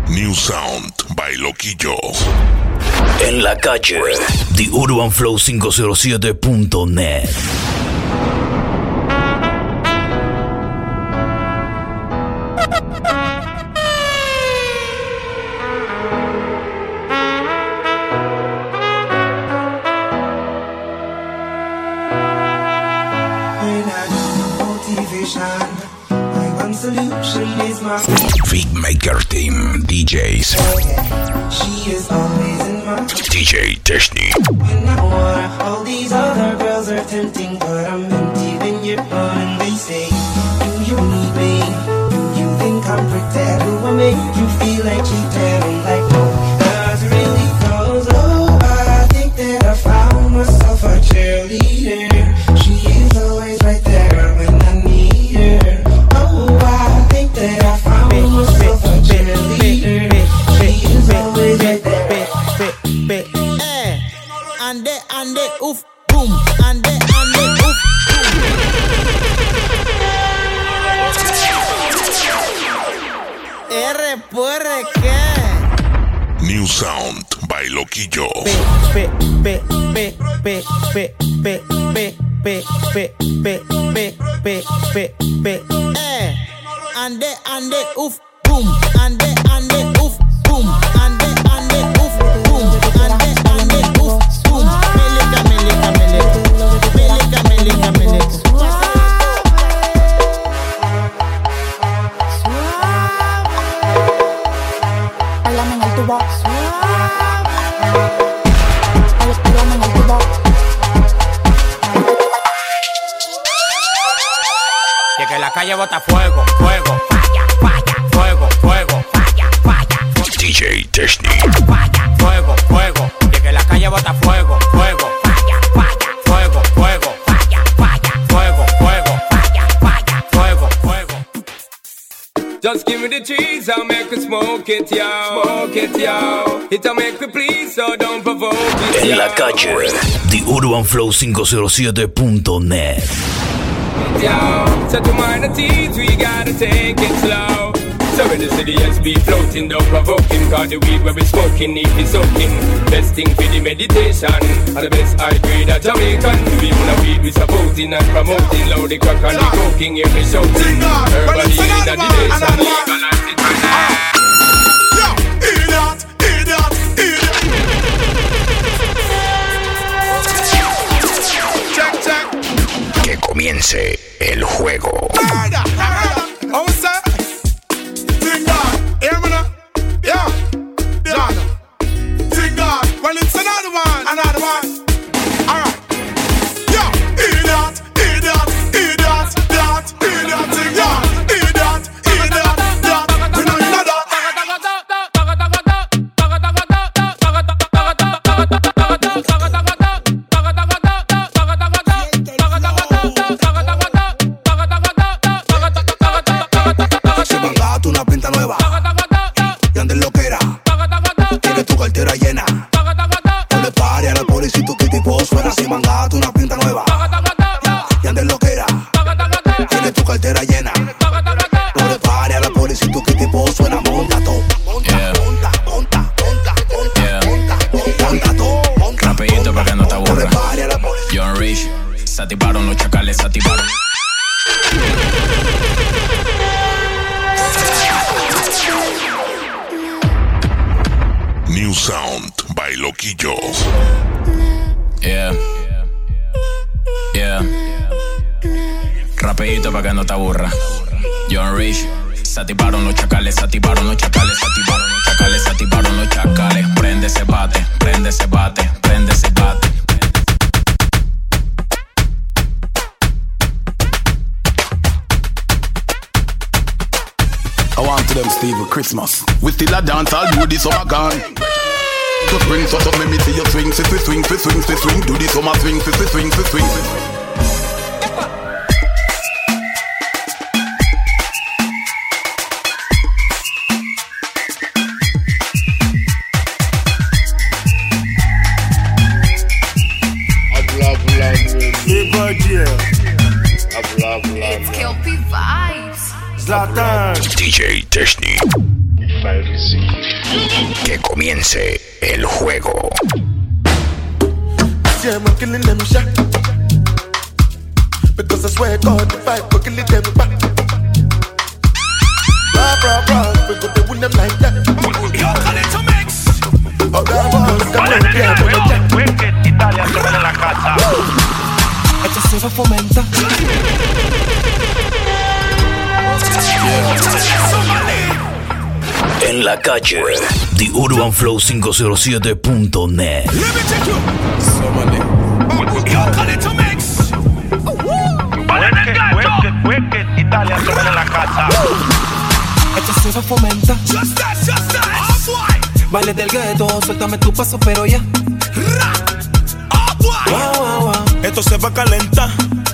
New Sound by Loquillo. En la calle, TheUrbanFlow507.net. Beatmaker Team DJs. She is always in my DJ Techni. and I want all these other girls are tempting, but I'm empty when you're gone. And they say, do you need me? Do you think I'm pretend? Do I make you feel like cheating? I'm like, no, that's really cause, oh, I think that I found myself a cheerleader. She is always right there when I need her. Oh, I think that I found myself a cheerleader. She is always right there. Ande, oof, boom. Ande, oof, boom. R, ¿qué? New Sound by Loquillo. Ande, oof, boom. Ande, oof, boom. Ande, oof, boom. Ande, oof, boom. Meleka. Háblame en el tubo. Háblame en el tubo. Y que la calle bota fuego, falla, fuego, falla. DJ Techni. Falla, fuego. Y que la calle bota fuego, falla, fuego, falla, fuego. Just give me the cheese, I'll make it smoke it, yo. It'll make me please, so don't provoke it, En la calle, TheUrbanFlow507.net. yo. So to mind the teens, we gotta take it slow. So when the city SB floating, don't provoke him. Cause the weed where we smoking, need be soaking. Best thing for the meditation. And the best high grade of Jamaican. To be on the weed we supporting and promoting. Loud the crack and the coking, hear me shouting. Herbally in the nation, legalize it right now. Que comience el juego. Well, it's another one. All right. Yo, idiot, that. We know you know that. Se mandaste una pinta nueva y andes loquera. Tienes tu cartera llena. No le pare a la policía y tu tipo suena. Si mandaste una pinta nueva y andes loquera. Tienes tu cartera llena. No le pare a la policía y tu tipo suena. Monta todo. Monta todo. Rapidito para que no te aburra. John Rich, se activaron los chacales, se activaron. New Sound by Loquillo. Yeah. Rapidito para que no te aburra. John Rich, se activaron los chacales, se activaron los chacales. Prende ese bate. I want to them Steve Christmas. We still a dance, I'll do this summer gone. Just bring so let me see you swing. Do this summer swing. It's Kelpie Vibes. Zlatan. DJ Techni. Que comience el juego. Yeah, I'm killing them shot. Because I swear God, the fight, we're killing them back. Rah, we got to win them like that. Yo, call it to mix. Oh, God, come on, yeah, Wicked, Italia se ven en la casa. Esto se fomenta. En la calle, The Urban Flow 507.net. Yo, call it to mix. Wicked, Italia se ven en la casa. Esto se fomenta. Just that. Oh, boy. Baile del gueto, suéltame tu paso, pero ya. Oh, boy. Wow. Esto se va a calentar.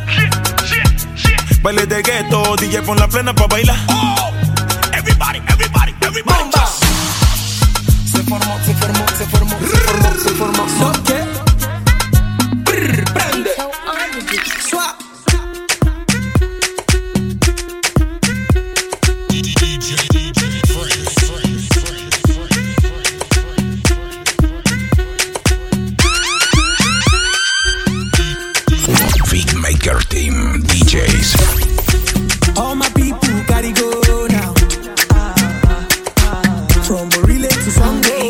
Baile de gueto, DJ pon la plena pa' bailar. Oh, everybody. Bomba. Se formó. ¿Qué? Prende. Swap. Big Maker Team DJs. All my people gotta go now. From Borile to Sunday.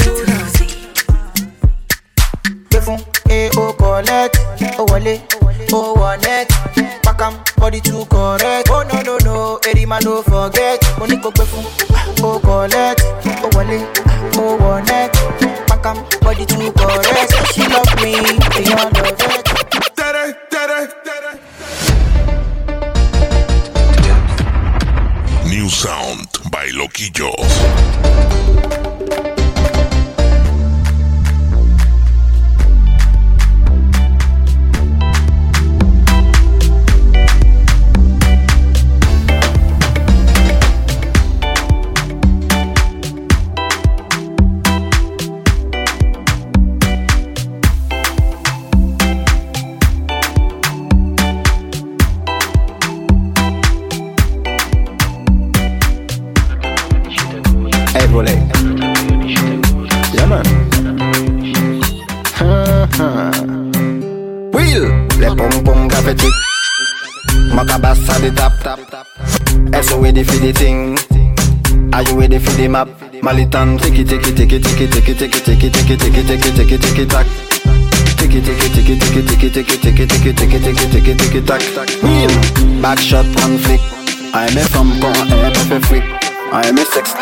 Oh, collect, oh, wale, oh, one neck. Pack 'em, body too correct. Oh, no, Eddie man, don't forget. Money go befu, oh, collect, oh, wale, oh, one neck. Pack 'em, body too correct. She love me, beyond the vet. New Sound by Loquillo. Yeah, man. Wheel, le pom pom graffiti. Macabas at the tap. So ready for the thing. Are you ready for the map? Malitan, tiki tack. Tiki tack. Wheel, back shot, one flick. I'm a from con, I'm a freak. I'm a sex.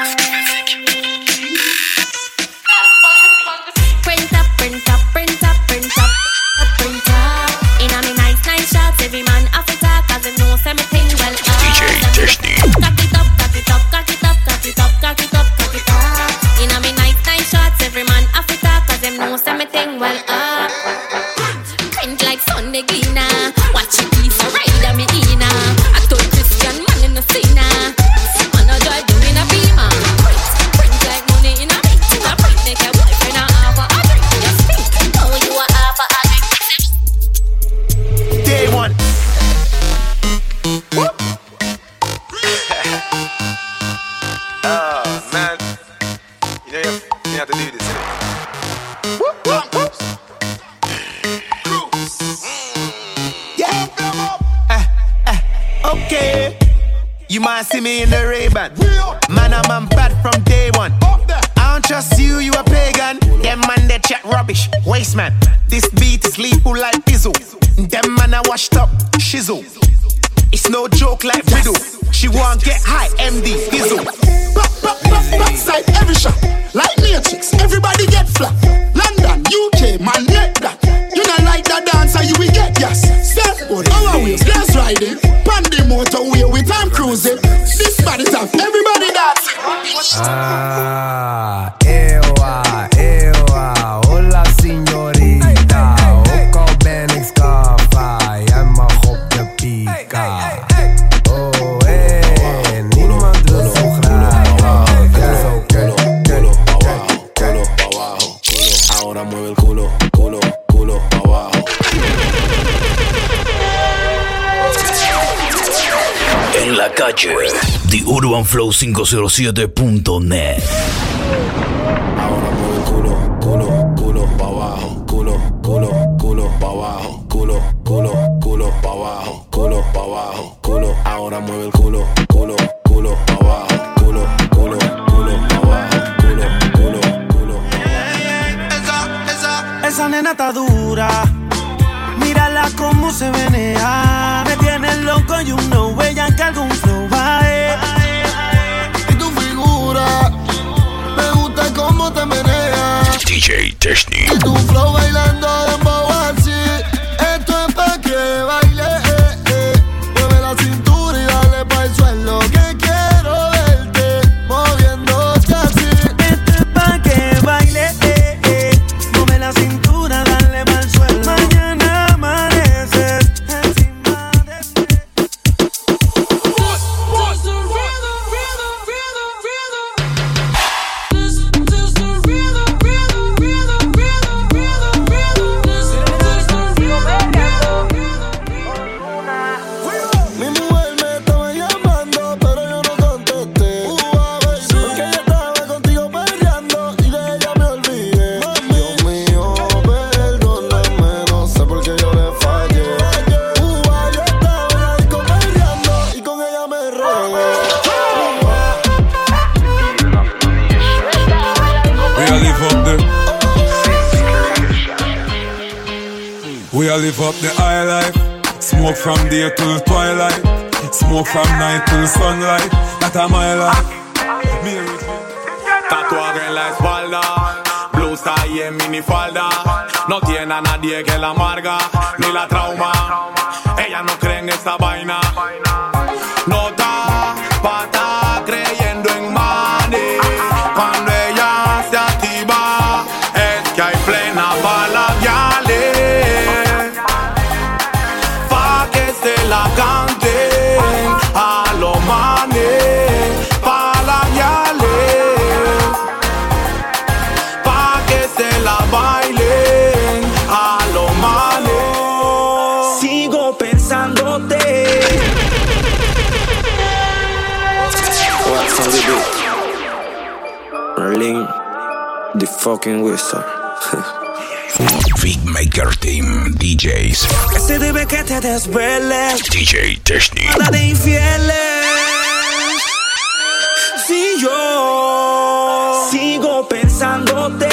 You might see me in the Ray-Ban. Man, I'm bad from day one. I don't trust you, you a pagan. Them man, they chat rubbish. Waste man. This beat is lethal like Bizzle. Them man, I washed up. Shizzle. It's no joke like Riddle. She won't get high, MD, Dizzle. Backside every shot. Like Matrix, everybody get flat. London, UK, man, let that. You don't like that dancer, you will get yes. Surfboard, our wheels, gas riding. Pandy motorway with time cruising. This body top, everybody dancing. Ewa, hola signorita. Ook al ben ik Scarfa, jij mag op de pika. Oh, niemand wil UrbanFlow507.net. Ahora mueve el culo, culo, culo pa' abajo, culo, culo, culo pa' abajo, culo, culo, culo pa' abajo, culo pa' abajo, culo. Ahora mueve el culo, culo, culo pa' abajo, culo, culo, culo pa' abajo, culo, culo, culo. Esa nena está dura. Mírala cómo se menea. Me tiene loco, you know. Ella que algún flow va. Y tu figura, me gusta cómo te meneas. DJ Technic. Y tu flow bailando dembow así. Esto es pa' que baile. Mueve la cintura y dale pa' el suelo. Que quiero verte moviéndote así. Esto es pa' que baile. Mueve la cintura, dale pa' el suelo. Mañana amaneces encima de mí. Mi mujer me estaba llamando, pero yo no contesté. Porque ella estaba contigo peleando y de ella me olvidé. Dios mío, perdóname, no sé por qué yo le fallé. Yo estaba en la disco peleando y con ella me regué. We all live up the high life. Smoke from day till twilight. Smoke from night till sunlight. That's my life. Tatuaje en la espalda, blusa y en minifalda. No tiene a nadie que la amarga ni la trauma. Ella no cree en esa vaina. No está pata creyendo en money. Cuando ella se activa es que hay plena bala pa' que se la canten a los manes. Pa' la pa' que se la bailen a los manes. Sigo pensándote. What's on the beat? Merlin, the fucking wizard. Beatmaker Team DJs. Se debe que te desveles. DJ Technic. Nada de infieles. Si yo sigo pensándote,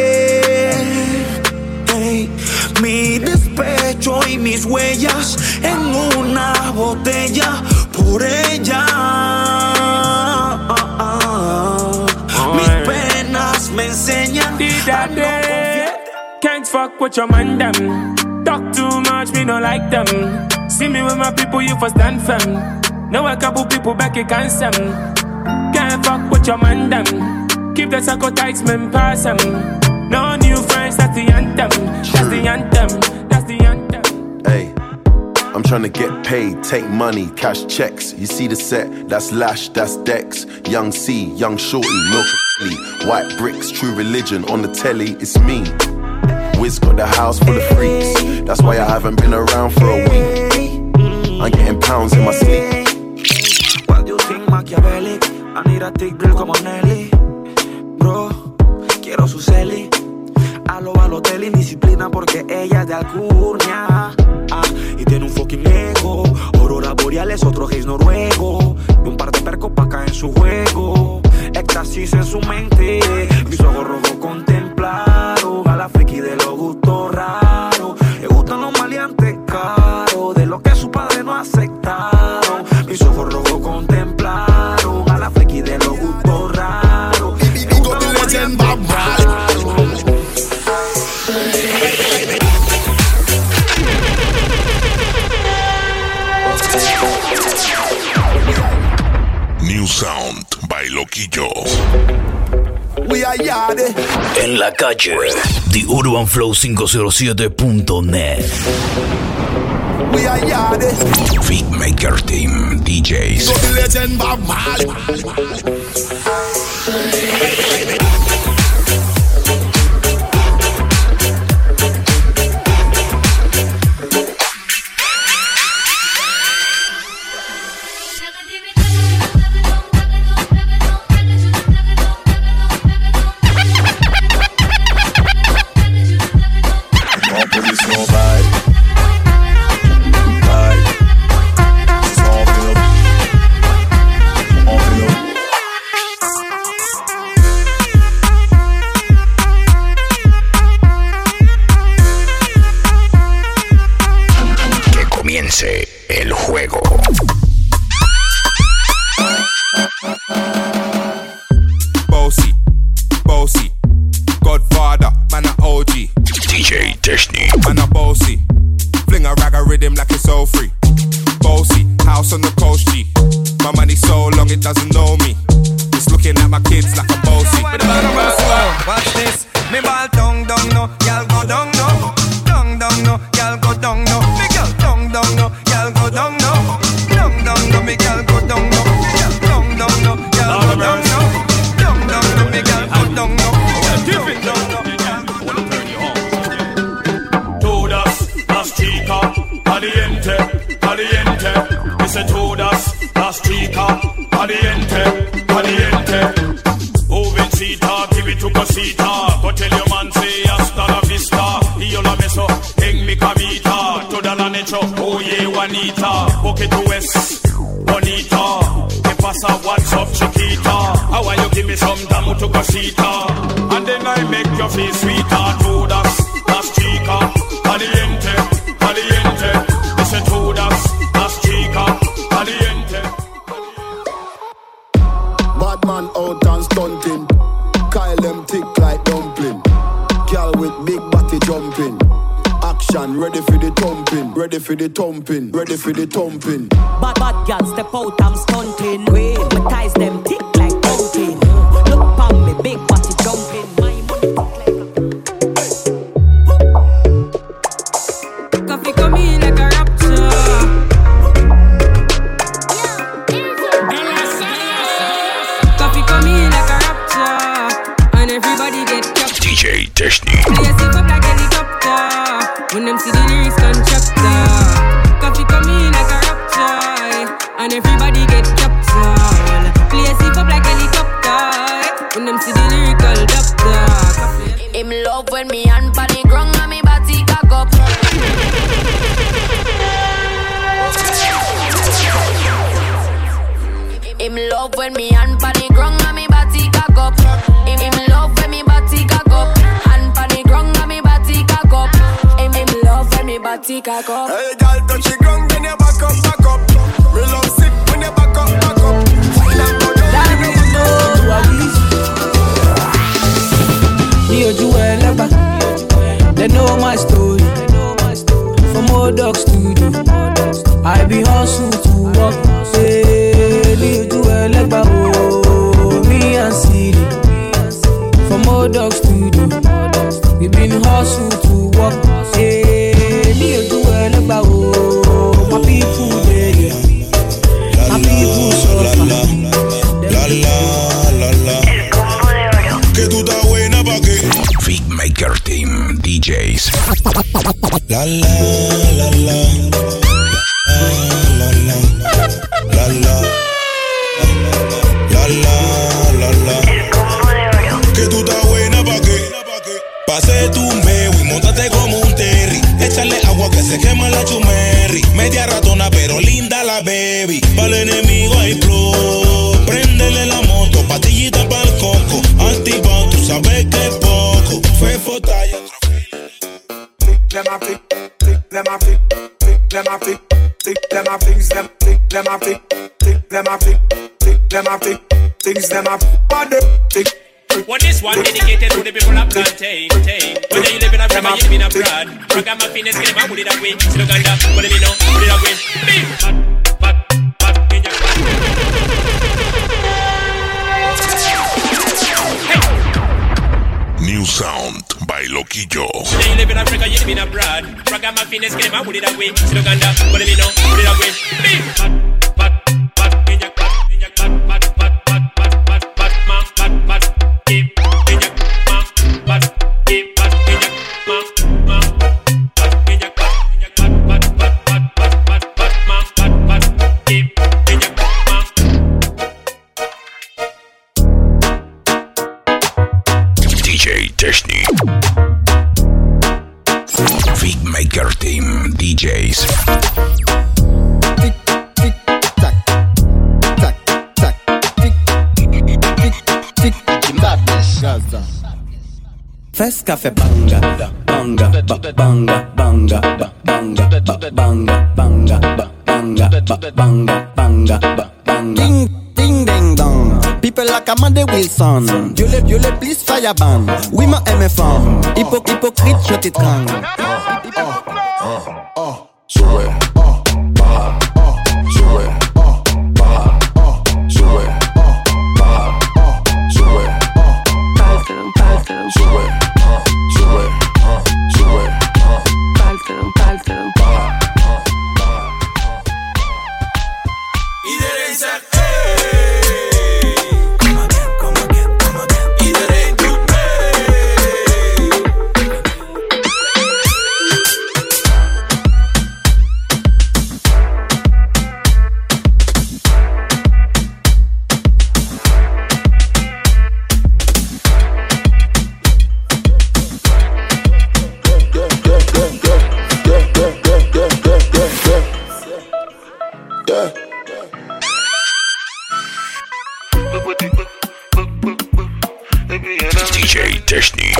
hey, mi despecho y mis huellas en una botella por ella. Mis penas me enseñan a no confiar. Can't fuck with your man them. Talk too much, me no like them. See me with my people, you for stand firm. Know a couple people back, you can't some. Can't fuck with your man them. Keep the circle tight, man, pass them. No new friends, that's the anthem. That's the anthem. That's the anthem. Hey, I'm trying to get paid, take money, cash checks. You see the set, that's Lash, that's Dex. Young C, Young Shorty, Milk Lee, White Bricks, True Religion on the telly, it's me. Wiz got the house full of freaks. That's why I haven't been around for a week. I'm getting pounds in my sleep. What do you think, Machiavelli? I need a thick girl como Nelly. Bro, quiero su celi. A lo Balotelli, indisciplina porque ella es de Alcurnia. Y tiene un fucking ego. Aurora boreales, otro gays noruego. Y un par de percos pa' caer en su juego. Éxtasis en su mente. Mis ojos rojos contemplaron a la friki de los gustos raros. Le gustan los maleantes caros, de lo que su padre no aceptaron. Mis ojos rojos contemplaron a la friki de los gustos raros. Le gustan los maleantes caros. New Sound by Loquillo. We are yard. En la calle, The UrbanFlow507.net. We are yard. Beatmaker Team DJs. So the legend Bob Marley. my kids like a bossy. Watch this, me ball tongue down no, y'all go down no. Tongue down no, y'all go down no. Me girl tongue down no, y'all go down no. Tongue down no, me girl go down no. Tongue down no, y'all go down no. Tongue down no, me girl go down no. Give it down no. Todas las chicas caliente, caliente. Dice todas las chicas caliente, caliente. Jovencita, give it to cosita. Go tell your man say hasta la vista. Y yo la beso en mi camita. Toda la noche, oye Juanita. Porque tú es bonita. ¿Qué pasa? What's up, chiquita? How are you give me some damo to cosita? And then I make your face sweeter. Todas las chicas caliente, caliente. Dice todas las chicas caliente. Bad man out and stunting. Kyle them thick like dumpling. Girl with big body jumping. Action ready for the thumping. Ready for the thumping. Ready for the thumping. Bad girl step out, I'm stunting. My ties them thick like pumpkin. Look pon me, big body jumping. Coffee come in like a rapture. Coffee come in like a rapture. And everybody get kept. DJ Technique. Play a safe up like helicopter. When them see the lyrics constructor. Coffee come in like a rapture. And everybody get captured. Play a safe up like helicopter. When them see the lyrical doctor. Him love when me hand pan the ground and me body cock up. Him love when me hand pan the ground and me body cock up. Him love when me body cock up. Hand pan the ground and me body cock up. Him love when me body cock up. Hey, girl, touch the ground, then you back up, back up. Me love sick when you back up, back up. Fine and go down, you know to a beast. Rio Juelaba, they know my story. From old dog studio, I be hustle to walk. Hey, Rio Juelaba, oh, me and Siri. From old dog studio, we been hustle to walk. Hey, Rio Juelaba, oh, my people there, my people suffer. La la la. Que tú estás buena pa' qué. Big Maker Team DJs. La la la la. La la la la. La la la. Que tú estás buena pa' qué. Pase tu meo y montate como un terry. Échale agua que se quema la chumerri. Media ratona pero linda la baby. Para el enemigo hay flow. Préndele la moto, patillita pa'l coco. Activado, tú sabes que es poco. Fue fotalla. Them a flick, them a flick, them a flick, them a flick, them a flick, them a flick, them a flick, things them a flick. Well, this one dedicated to the people of plantain. Whether you live in a Brahma, you live in a broad. Ragamuffin is getting my wood that way. Still Uganda, what do you know? Put it away. In your New sound by Loquillo. Whether you live in Africa, you live in abroad. Ragamuffin is getting my wood that way. Still Uganda, what do you know? Put it away. In your DJ Technique. Big Maker Team DJs. Fes café banga, banga, banga, banga, banga, banga, banga, banga, banga, banga. Ding, ding, ding, dong. People like Amanda Wilson. Dieu les please fire ban. Oui, ma MFM. Hypocrite, je t'étrangle. Sube, baja, sube, baja, sube, baja, DJ Technique.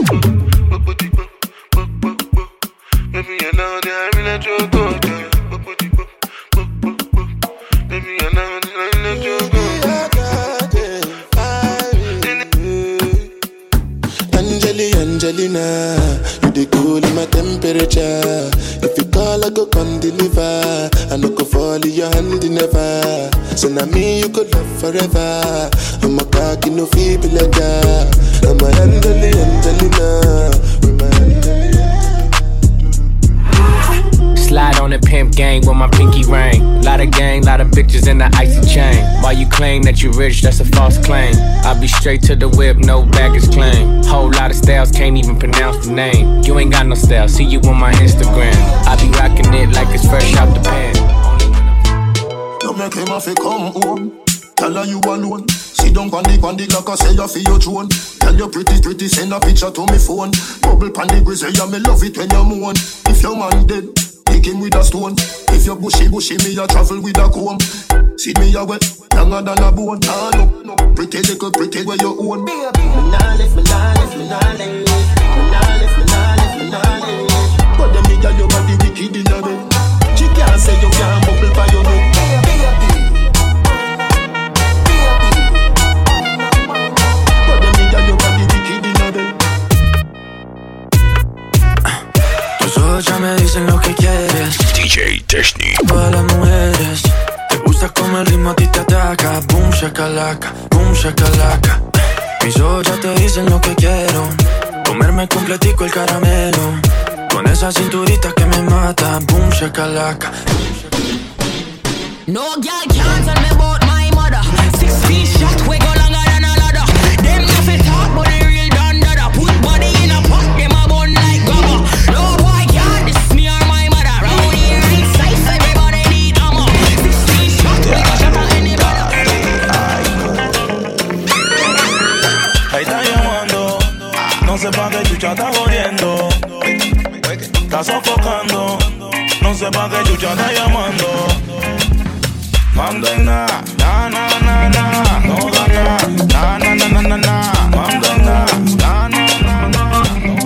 Angelina, you the cool in my temperature. If you call, I go come deliver. I no go fall in your hand never. So now me you could love forever. I'm a cocky no feeble like that. I'm a Angelina. Slide on the pimp gang with my pinky ring. Lot of gang, lot of bitches in the icy chain. While you claim that you rich, that's a false claim. I be straight to the whip, no baggage claim. Whole lot of styles, can't even pronounce the name. You ain't got no style, see you on my Instagram. I be rocking it like it's fresh out the pan. You make him have to come home. Tell her you alone. Sit down on the like I say you feel your throne. Tell you pretty, send a picture to me phone. Bubble pan the grizzly, yeah, me love it when you moan. If your man dead, take him with a stone. If you bushy, me a travel with a comb. See me a wet, younger than a bone. Ah, no, pretty little pretty where you own. Me nah live. But them nigga you got the wicked in a bed. She can't say you can't bubble by your neck. But them nigga you got the wicked in a bed. Tus ojos ya me dicen lo que quieres. DJ Technique. Todas las mujeres te gusta como el ritmo a ti te ataca. Boom shakalaka, boom shakalaka. Mis ojos ya te dicen lo que quiero. Comerme completico el caramelo. Con esa cinturita que me mata. Boom shakalaka. No girl can't tell me about my mother. 6 feet shot, we go longer than a ladder. Them nothing talk, but they real done dada. Put body in a pot, them a bun like grabber. No boy can't diss me or my mother. Round here inside, everybody need ammo. 6 feet shot, we go shot at anybody. Ahí está llamando, no sé pa' qué chucha está jodiendo. Está sofocando, no sé pa' qué chucha está llamando. Manda en na, na, no da na, manda en na.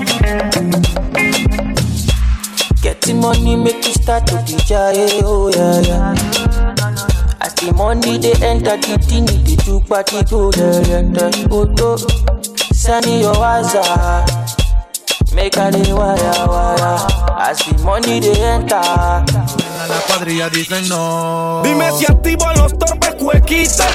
Getting money make you start to DJ, oh yeah. As the money they enter the thing, they do party go there. Oto, send your WhatsApp, make a day wire. As the money they enter. La cuadrilla dicen no. Dime si activo a los torpes cuequitos.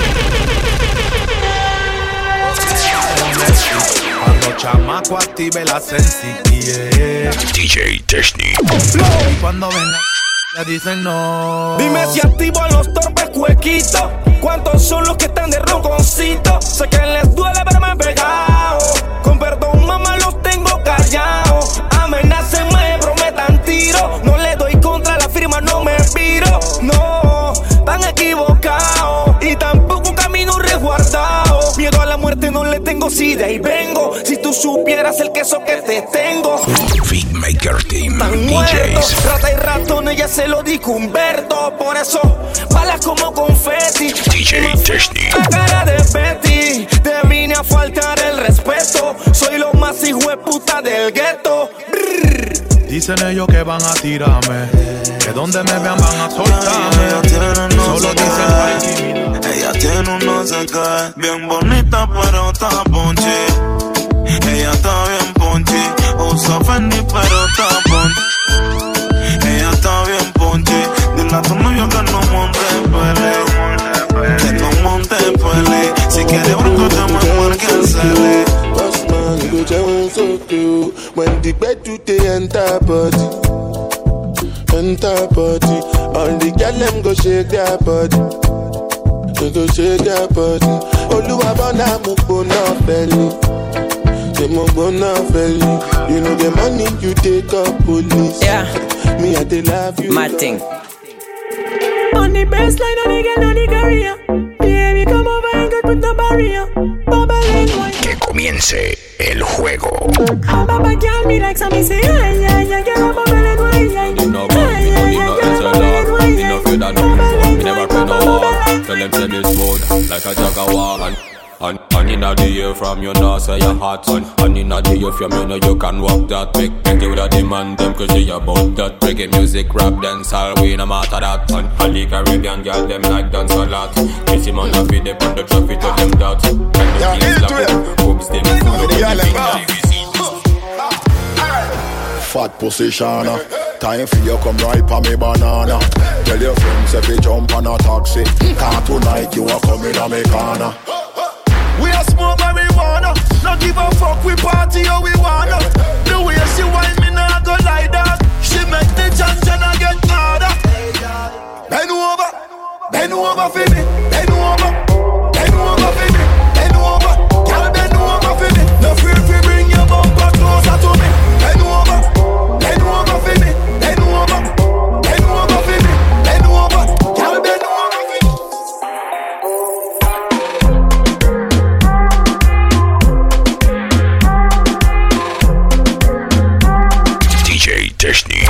Cuando chamaco active la sensi, yeah. DJ Technique. Y cuando venga ya dicen no. Dime si activo a los torpes cuequitos. ¿Cuántos son los que están de ronconcito? Sé que les duele verme pegado. Con perdón mamá los tengo callados. Amenacen, me prometan tiro. No le doy contra la firma, no me piro. No, tan equivocados. Y tampoco un camino resguardado. Miedo a la muerte no le tengo, si de ahí vengo. Si tú supieras el queso que te tengo. Beatmaker Team Tan muerto, DJs. rata y ratón, ella se lo dijo Humberto. Por eso, balas como confeti. DJ Technique. La cara de Betty, te vine a faltar el respeto. Soy lo más hijo de puta del gueto. Dicen ellos que van a tirarme, que donde me vean van a soltarme. Solo dicen ay, ella tiene un no sé qué, bien bonita pero está ponchi. Ella está bien ponchi, usa Fendi pero está ponchi. Ella está bien ponchi, dile a tu novio que no monte pele, que no monte pele. Si quiere bronco te me marque el cele. Bossman go down so cool when the bed do they enter body. All the girl them go shake their body. They go shake their body. Oluwabona mo gbona belly. They mo gbona belly. You know the money you take up police. Yeah. Me I dey love you. My thing. On the baseline, on the girl, on the career. Baby, come over and get put the barrier. Que comience el juego. Baba girl, me like some say, ay, ay, ay, girl, bubble and wine, ay, Me never pay no war. Tell them say this road like a jaguar. And inna the air from you know say you're hot. And inna the air from you know you can walk that. Make you with a demand them crazy about that. Reggae music, rap, dance, all we no matter that. And the Caribbean girl them like dance a lot. Kissy man a feed them on the traffic to them that. And the kids love them, boobs them full of them. Fat position, time for you come right pa me banana. Tell your friends if you jump on a taxi. Can't tonight you are coming on me corner. We a smoke marijuana. Not give a fuck, we party how we wanna. The way she whine me nah go like that. She make the Chana get harder. Bend over for me. Bend over for me. Bend over, girl bend over for me. No fear if you bring your bumper closer to me. Bend over for me. Bend over for me. Bend over, girl bend over for me. DJ Technic.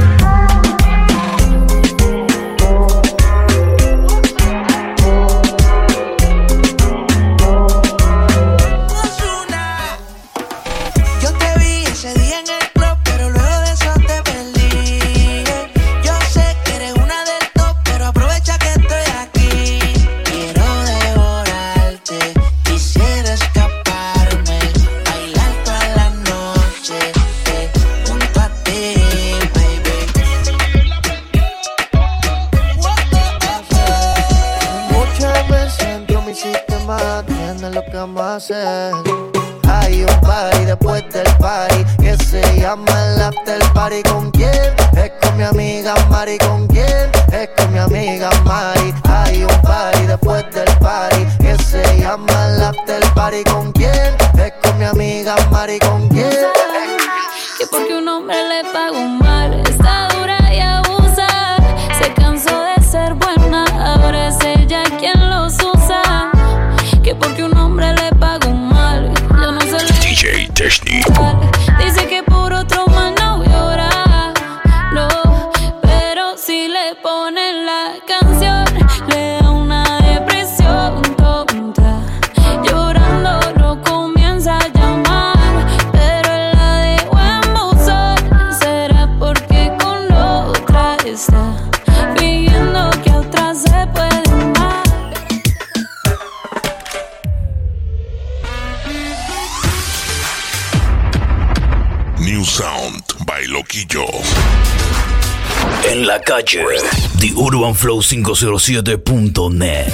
Hay un party después del party que se llama el after party. ¿Con quién? Es con mi amiga Mari. ¿Con quién? Es con mi amiga Mari. Hay un party después del party que se llama el after party. ¿Con quién? Es con mi amiga Mari. ¿Con quién? Que porque un hombre le paga un mal, está dura y abusa. Se cansó de ser buena, ahora es ella quien los usa. Que porque un hombre le paga un mal, yo no sé. DJ Technic. Dice que por otro mal no llora, no, pero si le ponen la canción le da una depresión tonta. Llorando lo comienza a llamar, pero él la dejó en buzón. Será porque con otra está fingiendo que a otra se puede amar. New Sound by Loquillo. En la calle, TheUrbanFlow507.net.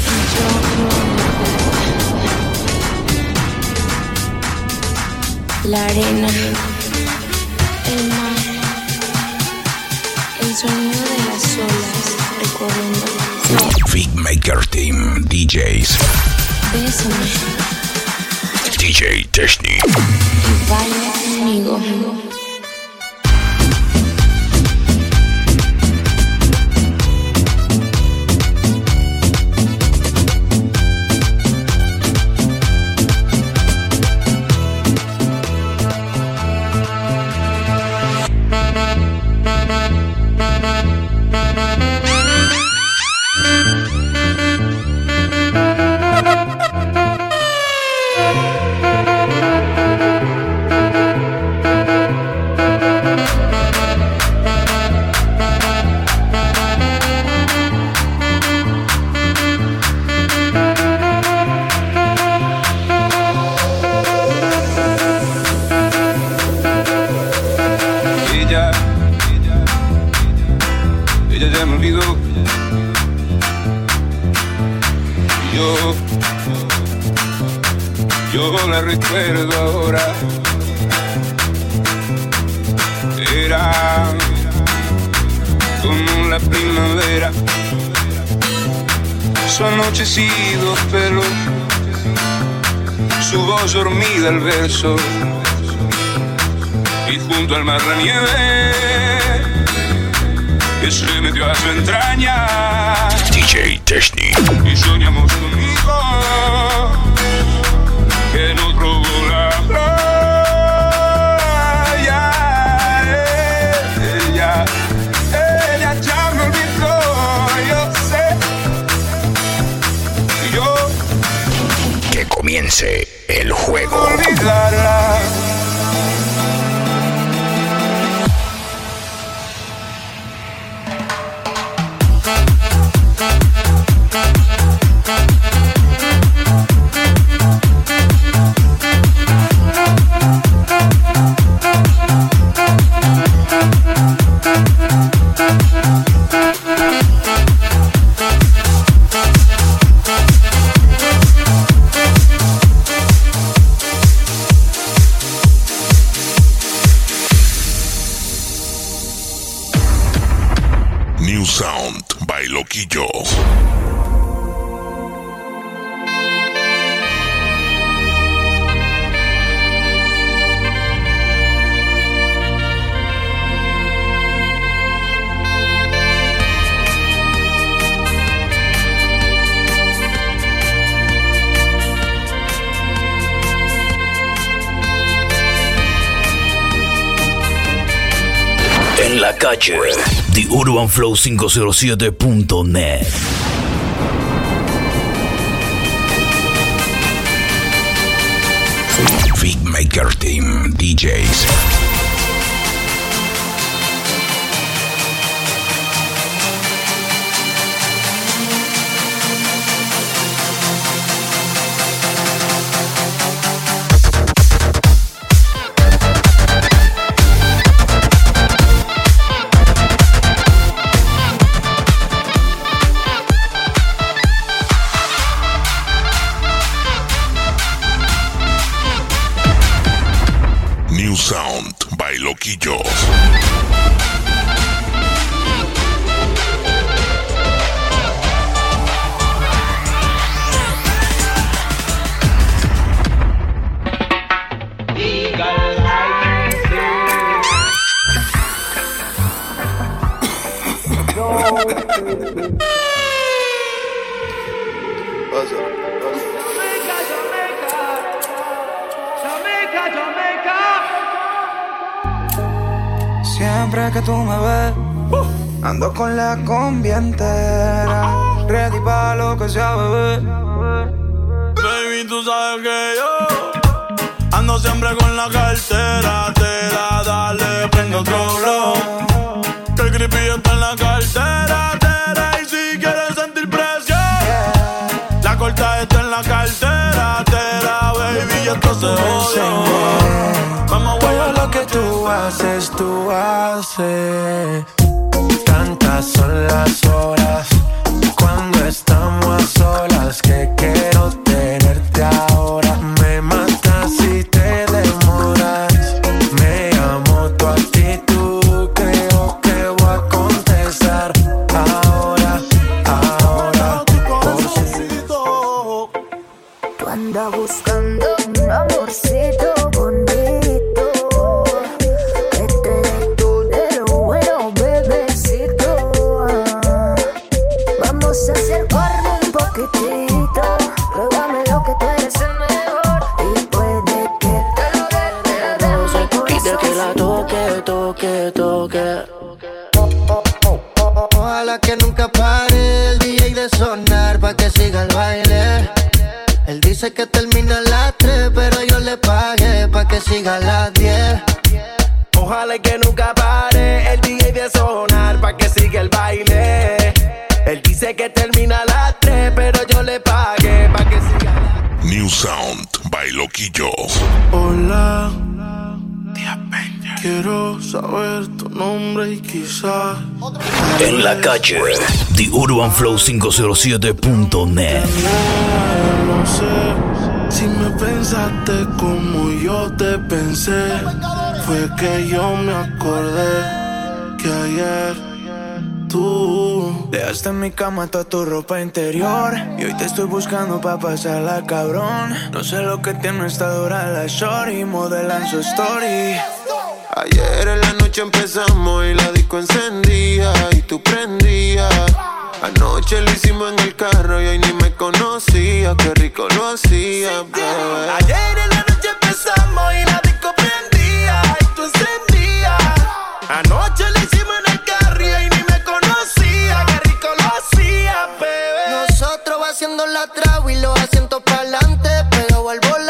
La arena, el mar, el sonido de las olas recorriendo las Big Maker Team DJs. Bésame DJ Technic. y baila conmigo. Ella ya me olvidó. Yo la recuerdo ahora. Era como la primavera, su anochecido pelo, su voz dormida al verso, y junto al mar la nieve que se metió a su entraña. DJ Technic. Y soñamos conmigo que nos robó la playa. Ella ya me olvidó, yo sé. Que comience Comience el juego. Olvidarla. New Sound by Loquillo. En la calle, TheUrbanFlow507.net. Beatmaker Team DJs. New Sound by Loquillo. Siempre que tú me ves, ando con la combi entera, ready pa' lo que sea, bebé. Baby, tú sabes que yo ando siempre con la cartera. Te da, dale, prende otro blow. Que el creepy está en la cartera. Y si quieres sentir presión, la corta está en la cartera. Baby, esto se jodió. Todo lo que tú haces. Tantas son las horas cuando estamos a solas que quiero tenerte ahora. Me matas si te demoras. Me amo tu actitud, creo que voy a contestar ahora. Tú andas buscando un amorcito bonito, que te dé todo de lo bueno, bebecito. Vamos a acercarnos un poquitito, pruébame lo que tú eres el mejor, y puede que te lo dé. Pide que la toque. Ojalá que nunca pare el DJ de sonar pa' que siga el baile. Él dice que termina a las 3, pero yo le pagué pa' que siga a las 10. Ojalá que nunca pare el DJ de sonar pa' que siga el baile. Él dice que termina a las 3, pero yo le pagué pa' que siga. New Sound by Loquillo. Hola, quiero saber tu nombre y quizás En la calle, TheUrbanFlow507.net. no sé si me pensaste como yo te pensé. Fue que yo me acordé que ayer tú dejaste en mi cama toda tu ropa interior y hoy te estoy buscando pa' pasarla, cabrón. No sé lo que tiene esta dura la shorty, modelan su story. Ayer en la noche empezamos y la disco encendía y tú prendías. Anoche lo hicimos en el carro y hoy ni me conocía. Qué rico lo hacía, bebé. Ayer en la noche empezamos y la disco prendía y tú encendías. Anoche lo hicimos en el carro y hoy ni me conocía. Qué rico lo hacía, bebé. Nosotros va haciendo la traba y los asientos pa'lante, pero al volante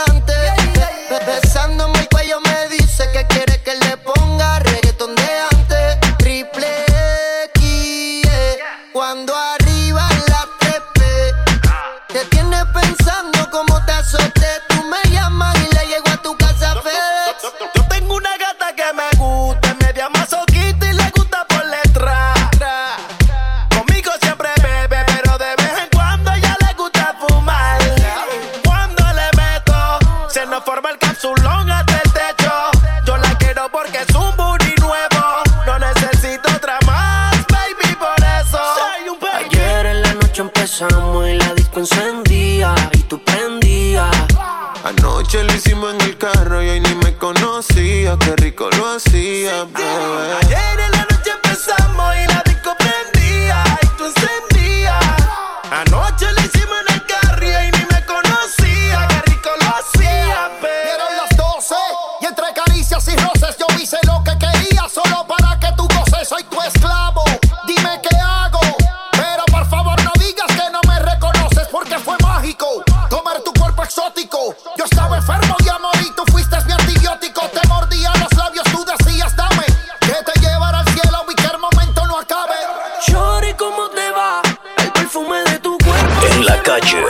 Se nos forma el capsulón hasta el techo. Yo la quiero porque es un booty nuevo. No necesito otra más, baby, por eso. Ayer en la noche empezamos y la disco encendía y tú prendías. Anoche lo hicimos en el carro y hoy ni me conocía. Qué rico lo hacía, bebé. Ayer en la noche empezamos y la disco prendía y tú encendías. Anoche lo hicimos en el carro y hoy ni me conocía. Qué rico lo hacía, bebé. Dieron las 12 y entre caricias y roces yo hice lo que quería solo para que tú goces. Soy tu esclavo, dime qué hago. Pero por favor no digas que no me reconoces porque fue mágico tomar tu cuerpo exótico. Yo estaba enfermo y a morir, tú fuiste mi antibiótico. Te mordía los labios, tú decías dame que te llevará al cielo y que el momento no acabe. Shorty, ¿cómo te va? El perfume de tu cuerpo. En la calle,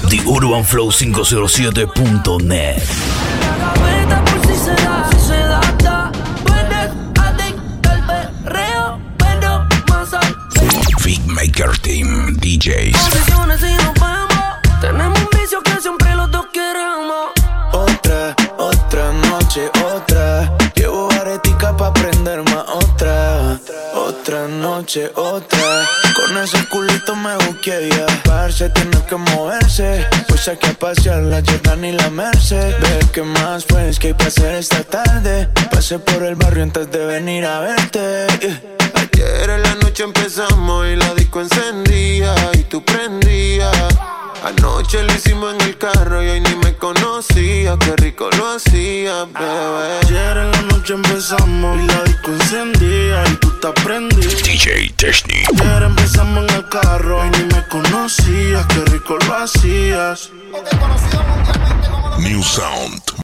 TheUrbanFlow507.net. La gaveta por si se da, tú eres adicto al perreo, pero más al Beatmaker Team DJs. posiciones y nos vemos. Tenemos un vicio que siempre los dos queremos. Otra noche, otra. Llevo aretica pa' prender más otra noche, otra. Con ese culito me buqueé ya. Parce, tiene que moverse. Pues saqué a pasear la Jordan y la Merced. Ve que más pues que hay pa' hacer esta tarde. Pasé por el barrio antes de venir a verte. Ayer en la noche empezamos y la disco encendía y tú prendías. Anoche lo hicimos en el carro y hoy ni me conocía. Qué rico lo hacía, bebé. Ayer en la noche empezamos y la disco encendía y tú te aprendías. DJ Technic. Ayer empezamos en el carro y ni me conocías. Qué rico lo hacías. New Sound